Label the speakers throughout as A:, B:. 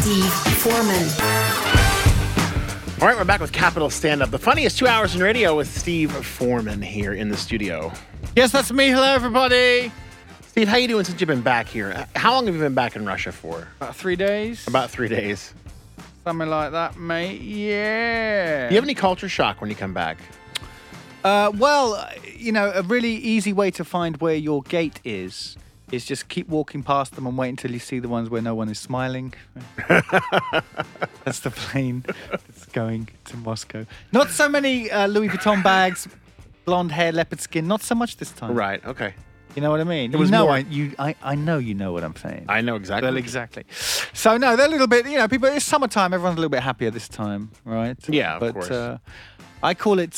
A: Steve Foreman.
B: All right, we're back with Capital Stand Up, the funniest 2 hours in radio with Steve Foreman here in the studio.
C: Yes, that's me. Hello, everybody.
B: Steve, how you doing since you've been back here? How long have you been back in Russia for?
C: About 3 days.
B: About 3 days.
C: Something like that, mate. Yeah.
B: Do you have any culture shock when you come back?
C: Well, a really easy way to find where your gate is just keep walking past them and wait until you see the ones where no one is smiling. That's the plane that's going to Moscow. Not so many Louis Vuitton bags, blonde hair, leopard skin. Not so much this time.
B: Right, okay.
C: You know what I mean?
B: It was more...
C: I know you know what I'm saying.
B: I know exactly.
C: Well, exactly. So, no, they're a little bit, people, it's summertime. Everyone's a little bit happier this time, right?
B: Yeah, of course.
C: I call it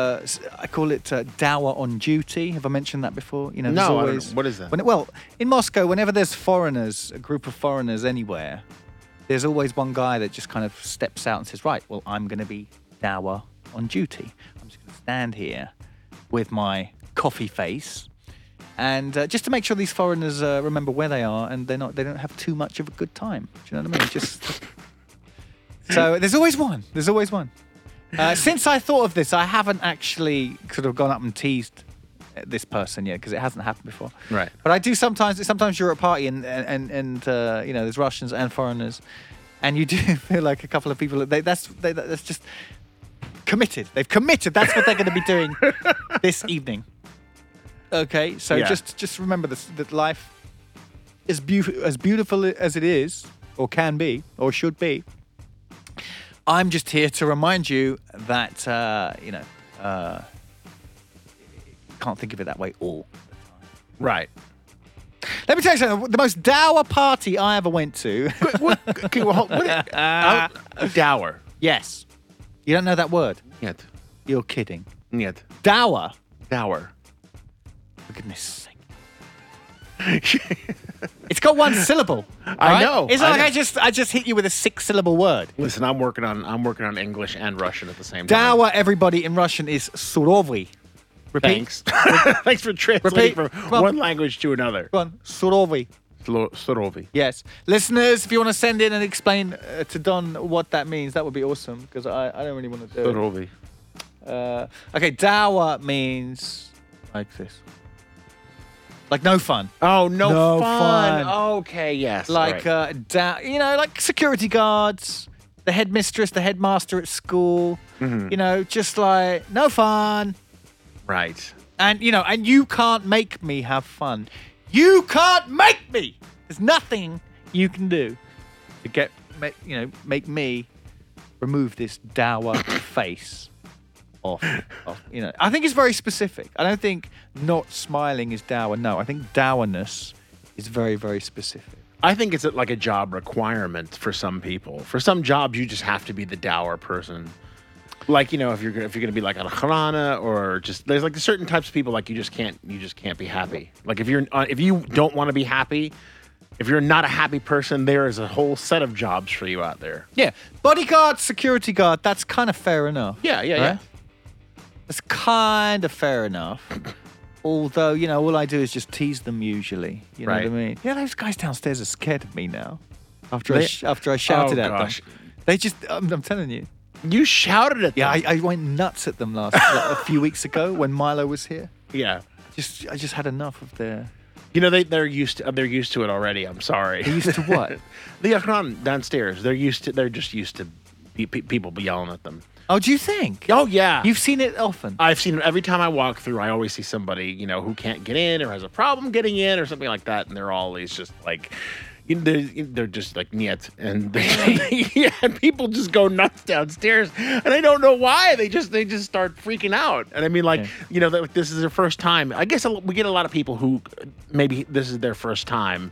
C: dower on duty. Have I mentioned that before?
B: No, I don't know. What is that?
C: Well, in Moscow, whenever there's foreigners, a group of foreigners anywhere, there's always one guy that just kind of steps out and says, right, well, I'm going to be dower on duty. I'm just going to stand here with my coffee face and just to make sure these foreigners remember where they are and they don't have too much of a good time. Do you know what I mean? So there's always one. There's always one. Since I thought of this, I haven't actually sort of gone up and teased this person yet because it hasn't happened before.
B: Right.
C: But I do sometimes. Sometimes you're at a party and there's Russians and foreigners, and you do feel like a couple of people. That's just committed. They've committed. That's what they're going to be doing this evening. Okay. So just remember this: that life is as beautiful as it is, or can be, or should be. I'm just here to remind you that, can't think of it that way all the time.
B: Right.
C: Let me tell you something. The most dour party I ever went to.
B: Dower.
C: Yes. You don't know that word?
B: Yet.
C: You're kidding.
B: Yet.
C: Dower.
B: Dower.
C: For goodness sake. It's got one syllable.
B: I know.
C: It's not like I just hit you with a 6-syllable word.
B: Listen, I'm working on English and Russian at the same time.
C: Dower, everybody in Russian is surovy. Repeat.
B: Thanks. Thanks for translating from one language to another.
C: Go on. Surovy.
B: Surovy.
C: Yes. Listeners, if you want to send in and explain to Don what that means, that would be awesome because I don't really want to do
B: Surovy.
C: it. Okay, dower means like this. Like no fun.
B: Oh, no
C: fun.
B: Okay, yes.
C: Like,
B: right.
C: Like security guards, the headmistress, the headmaster at school. Mm-hmm. Just like no fun.
B: Right.
C: And, and you can't make me have fun. You can't make me. There's nothing you can do to make me remove this dour face. Off. I think it's very specific. I don't think not smiling is dour. No, I think dourness is very, very specific.
B: I think it's like a job requirement for some people. For some jobs, you just have to be the dour person. Like, if you're going to be like an Akharana or just there's like certain types of people like you just can't be happy. Like if you don't want to be happy, if you're not a happy person, there is a whole set of jobs for you out there.
C: Yeah, bodyguard, security guard. That's kind of fair enough.
B: Yeah.
C: It's kind of fair enough. Although, all I do is just tease them usually. You know what I mean? Yeah, those guys downstairs are scared of me now. After I shouted at them. They just, I'm telling you.
B: You shouted at them?
C: Yeah, I went nuts at them a few weeks ago when Milo was here.
B: Yeah.
C: I just had enough of their...
B: they're used to it already. I'm sorry.
C: They're used to what?
B: The Akron downstairs. They're just used to people yelling at them.
C: Oh, do you think?
B: Oh, yeah.
C: You've seen it often?
B: I've seen it every time I walk through. I always see somebody, who can't get in or has a problem getting in or something like that. And they're always just like, they're just like, niet. And and people just go nuts downstairs. And I don't know why. They just start freaking out. And I mean, like, this is their first time. I guess we get a lot of people who maybe this is their first time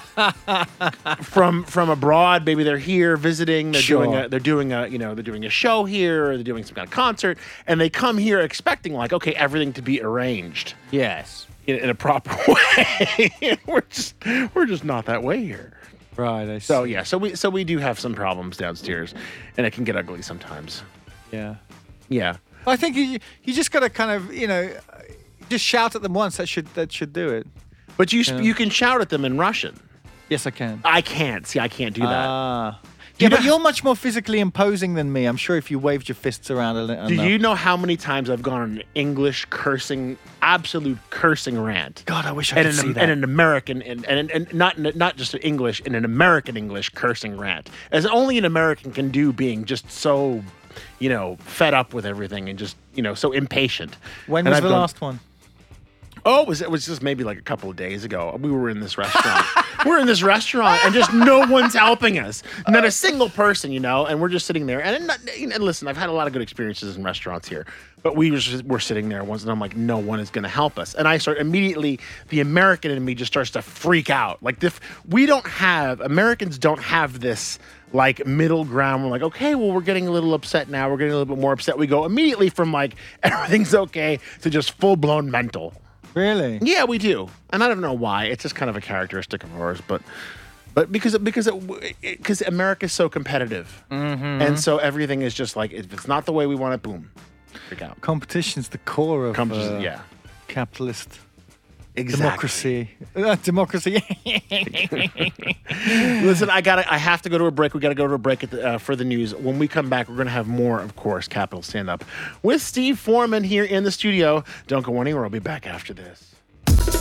B: from abroad. Maybe they're here visiting. They're doing a show here, or they're doing some kind of concert, and they come here expecting like, okay, everything to be arranged.
C: Yes.
B: In a proper way. We're just not that way here.
C: Right. I see.
B: So we do have some problems downstairs, and it can get ugly sometimes.
C: Yeah.
B: Yeah.
C: I think you just got to kind of just shout at them once. That should do it.
B: But you can shout at them in Russian.
C: Yes, I can.
B: I can't. See, I can't do that.
C: Yeah, but you're much more physically imposing than me. I'm sure if you waved your fists around a little.
B: Do you know how many times I've gone on an English cursing, absolute cursing rant?
C: God, I wish I could see that.
B: And an American, and not just an English, in an American English cursing rant, as only an American can do, being just so, fed up with everything and just, so impatient.
C: When was the last one?
B: Oh, it was just maybe like a couple of days ago. We were in this restaurant. We're in this restaurant, and just no one's helping us. Not a single person, and we're just sitting there. And listen, I've had a lot of good experiences in restaurants here, but we're sitting there once, and I'm like, no one is going to help us. And I start immediately, the American in me just starts to freak out. Like, Americans don't have this like middle ground. We're like, okay, well, we're getting a little upset now. We're getting a little bit more upset. We go immediately from like everything's okay to just full blown mental.
C: Really?
B: Yeah, we do, and I don't know why. It's just kind of a characteristic of ours, but because America's so competitive, and so everything is just like, if it's not the way we want it, boom, freak out.
C: Competition's the core of capitalist democracy. Democracy.
B: Listen, I have to go to a break. We got to go to a break for the news. When we come back, we're going to have more, of course, Capital Stand Up with Steve Foreman here in the studio. Don't go anywhere. I'll be back after this.